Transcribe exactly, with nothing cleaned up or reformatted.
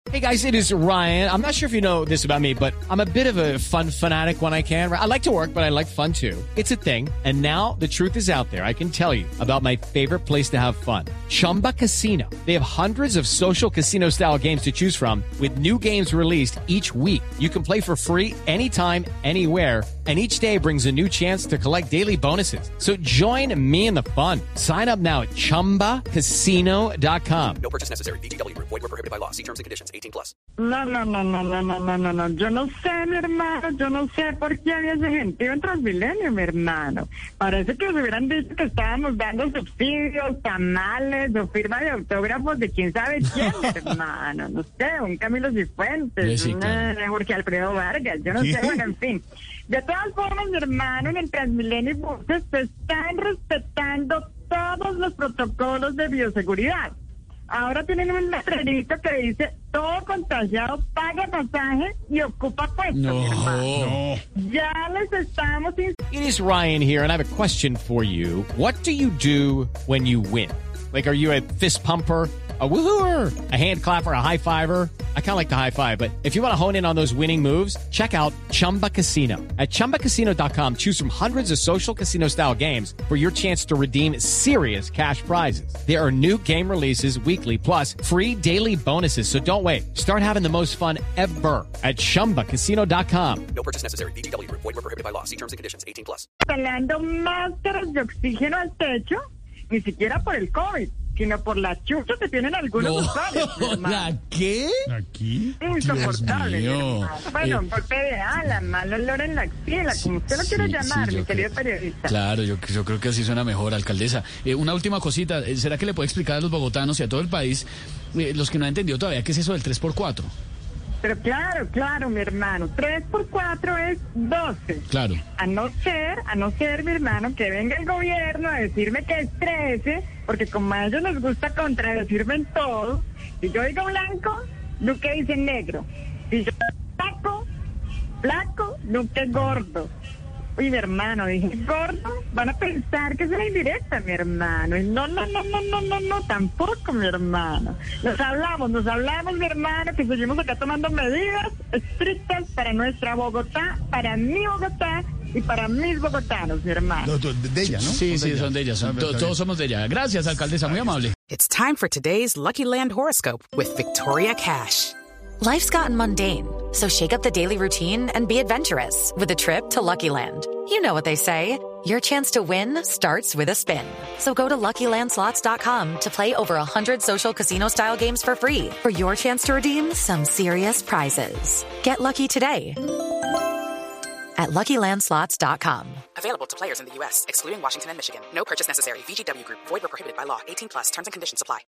Hey guys, it is Ryan. I'm not sure if you know this about me, but I'm a bit of a fun fanatic when I can. I like to work, but I like fun too. It's a thing. And now the truth is out there. I can tell you about my favorite place to have fun. Chumba Casino. They have hundreds of social casino style games to choose from with new games released each week. You can play for free anytime, anywhere. And each day brings a new chance to collect daily bonuses. So join me in the fun. Sign up now at chumba casino dot com. No purchase necessary. V G W Group. Void where prohibited by law. See terms and conditions. eighteen plus. No, no, no, no, no, no, no, no, no. Yo no sé, mi hermano. Yo no sé por qué había ese gentío en Transmilenio, mi hermano. Parece que nos hubieran dicho que estábamos dando subsidios, tamales o firma de autógrafos de quién sabe quién, mi hermano. No sé, un Camilo Cifuentes, Sí, claro. un Jorge Alfredo Vargas. Yo no sé, bueno, en fin. De todas formas, mi hermano, en el Transmilenio y buses se están respetando todos los protocolos de bioseguridad. Ahora tienen un letrerito que dice, todo contagiado paga pasaje y ocupa puesto, mi hermano. Ya les estamos... It is Ryan here, and I have a question for you. What do you do when you win? Like, are you a fist pumper, a woohooer, a hand clapper, a high fiver? I kind of like the high five, but if you want to hone in on those winning moves, check out Chumba Casino. At chumba casino dot com, choose from hundreds of social casino style games for your chance to redeem serious cash prizes. There are new game releases weekly, plus free daily bonuses. So don't wait. Start having the most fun ever at chumba casino dot com. No purchase necessary. V G W Group. Void where prohibited by law. See terms and conditions. eighteen plus. instalando máscaras de oxígeno al techo, ni siquiera por el COVID, sino por la chucha que tienen algunos usuarios, mi hermano. ¿La qué? ¿Aquí? Insoportable, mi Dios mío. hermano. Bueno, un golpe de ala, mal olor en la axila, como usted lo quiera sí, llamar, sí, mi yo querido creo- periodista. Claro, yo, yo creo que así suena mejor, alcaldesa. Eh, una última cosita, eh, ¿será que le puede explicar a los bogotanos y a todo el país, eh, los que no han entendido todavía, qué es eso del tres por cuatro? Pero claro, claro, mi hermano, tres por cuatro es doce. Claro. A no ser, a no ser, mi hermano, que venga el gobierno a decirme que es trece, porque como a ellos les gusta contradecirme en todo, si yo digo blanco, Duque dice negro. Si yo digo flaco, flaco, Duque gordo. Uy, mi hermano, dije gordo, van a pensar que es una indirecta, mi hermano. Y no, no, no, no, no, no, no, tampoco, mi hermano. Nos hablamos, nos hablamos, mi hermano, que seguimos acá tomando medidas estrictas para nuestra Bogotá, para mi Bogotá y para mis bogotanos, mi hermano. De, de- de ella, ¿no? Sí, sí, ella. son de ellas. son- Ah, to- está todos bien. somos de ella. Gracias, alcaldesa, muy amable. It's time for today's Lucky Land horoscope with Victoria Cash. Life's gotten mundane, so shake up the daily routine and be adventurous with a trip to Lucky Land. You know what they say, your chance to win starts with a spin. So go to lucky land slots dot com to play over one hundred social casino-style games for free for your chance to redeem some serious prizes. Get lucky today at lucky land slots dot com. Available to players in the U S, excluding Washington and Michigan. No purchase necessary. V G W Group. Void where prohibited by law. eighteen plus. Terms and conditions apply.